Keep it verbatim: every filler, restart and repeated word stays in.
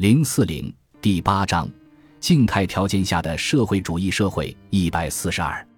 零四零第八章静态条件下的社会主义社会一百四十二